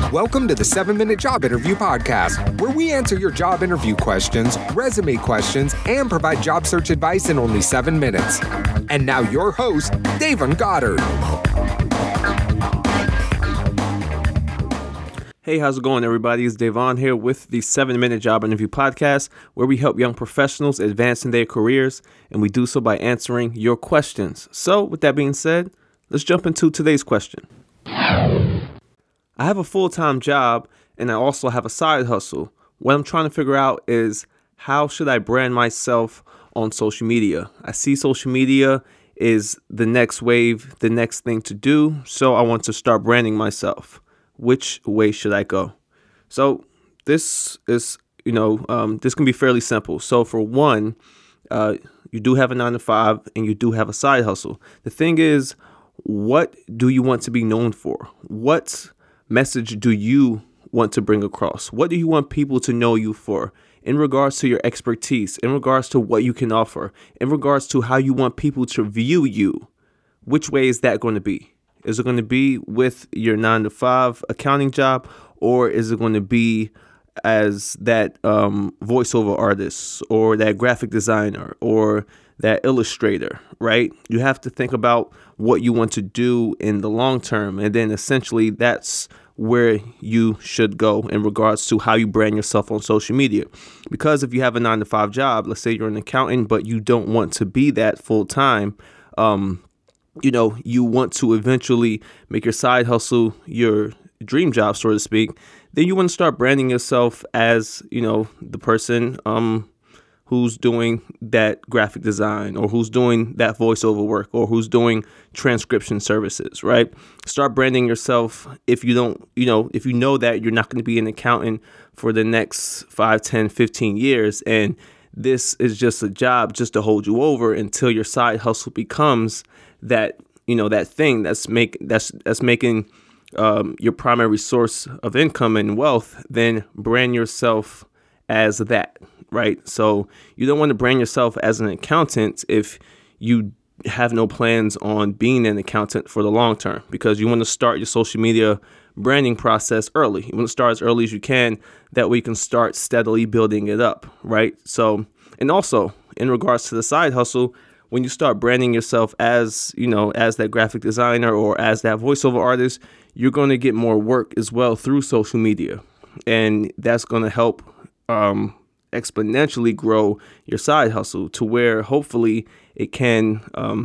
Welcome to the 7-Minute Job Interview Podcast, where we answer your job interview questions, resume questions, and provide job search advice in only 7 minutes. And now your host, Davon Goddard. Hey, how's it going, everybody? It's Davon here with the 7-Minute Job Interview Podcast, where we help young professionals advance in their careers, and we do so by answering your questions. So, with that being said, let's jump into today's question. I have a full-time job, and I also have a side hustle. What I'm trying to figure out is, how should I brand myself on social media? I see social media is the next wave, the next thing to do, so I want to start branding myself. Which way should I go? So this is, this can be fairly simple. So for one, you do have a 9-to-5 and you do have a side hustle. The thing is, what do you want to be known for? What message do you want to bring across? What do you want people to know you for in regards to your expertise, in regards to what you can offer, in regards to how you want people to view you? Which way is that going to be? Is it going to be with your 9-to-5 accounting job, or is it going to be as that voiceover artist or that graphic designer or that illustrator, right? You have to think about what you want to do in the long term. And then essentially that's where you should go in regards to how you brand yourself on social media. Because if you have a 9-to-5 job, let's say you're an accountant, but you don't want to be that full time, you want to eventually make your side hustle your dream job, so to speak, then you want to start branding yourself as, the person who's doing that graphic design, or who's doing that voiceover work, or who's doing transcription services, right? Start branding yourself if you don't, if you know that you're not going to be an accountant for the next 5, 10, 15 years, and this is just a job just to hold you over until your side hustle becomes that, that thing that's making your primary source of income and wealth. Then brand yourself as that, right? So you don't want to brand yourself as an accountant if you have no plans on being an accountant for the long term, because you want to start your social media branding process early. You want to start as early as you can. That way you can start steadily building it up, right? So, and also in regards to the side hustle, when you start branding yourself as, as that graphic designer or as that voiceover artist, you're going to get more work as well through social media. And that's going to help exponentially grow your side hustle to where hopefully it can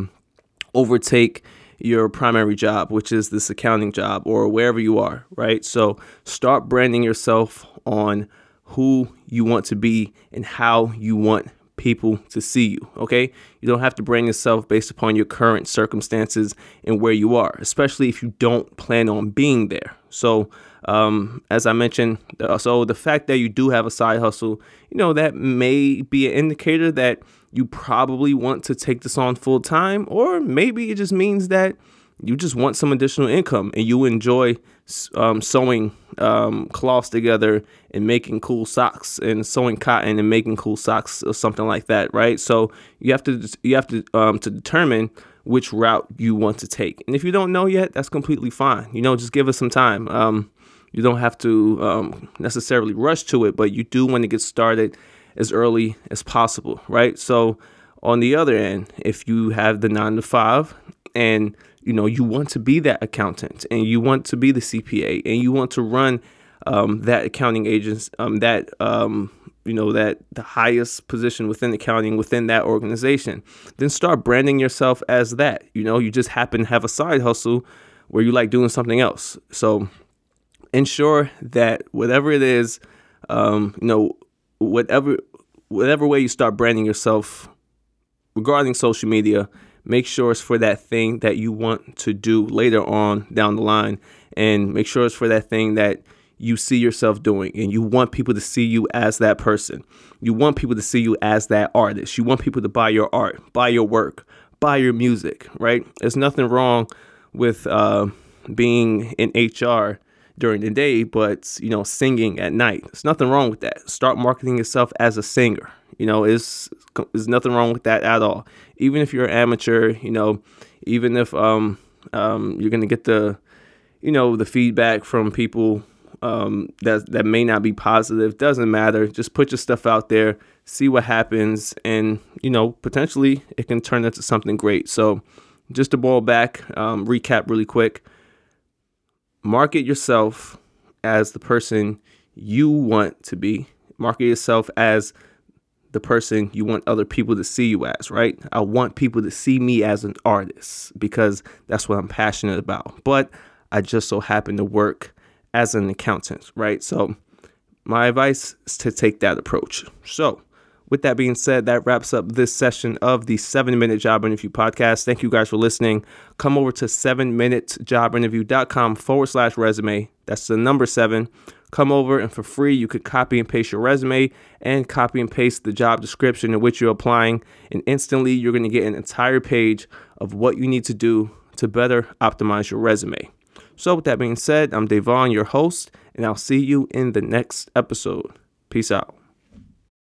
overtake your primary job, which is this accounting job or wherever you are, right? So start branding yourself on who you want to be and how you want people to see you, okay? You don't have to brand yourself based upon your current circumstances and where you are, especially if you don't plan on being there. So as I mentioned, so the fact that you do have a side hustle, that may be an indicator that you probably want to take this on full time, or maybe it just means that you just want some additional income and you enjoy sewing cloths together and making cool socks, and sewing cotton and making cool socks or something like that, right? So you have to determine which route you want to take. And if you don't know yet, that's completely fine. Just give us some time. You don't have to necessarily rush to it, but you do want to get started as early as possible, right? So on the other end, if you have the 9-to-5 and you want to be that accountant and you want to be the CPA and you want to run that accounting agents, that the highest position within accounting within that organization, then start branding yourself as that. You just happen to have a side hustle where you like doing something else. So ensure that whatever it is, whatever way you start branding yourself regarding social media, make sure it's for that thing that you want to do later on down the line, and make sure it's for that thing that you see yourself doing, and you want people to see you as that person. You want people to see you as that artist. You want people to buy your art, buy your work, buy your music, right? There's nothing wrong with being in HR during the day, but, singing at night. There's nothing wrong with that. Start marketing yourself as a singer. There's nothing wrong with that at all. Even if you're an amateur, even if you're going to get the, the feedback from people that may not be positive. Doesn't matter. Just put your stuff out there, see what happens, and potentially it can turn into something great. So just to boil back, recap really quick. Market yourself as the person you want to be. Market yourself as the person you want other people to see you as, right? I want people to see me as an artist because that's what I'm passionate about. But I just so happen to work as an accountant, right? So my advice is to take that approach. So with that being said, that wraps up this session of the 7-Minute Job Interview Podcast. Thank you guys for listening. Come over to 7minutejobinterview.com/resume. That's the number 7. Come over, and for free, you could copy and paste your resume and copy and paste the job description in which you're applying. And instantly, you're going to get an entire page of what you need to do to better optimize your resume. So with that being said, I'm Devon, your host, and I'll see you in the next episode. Peace out.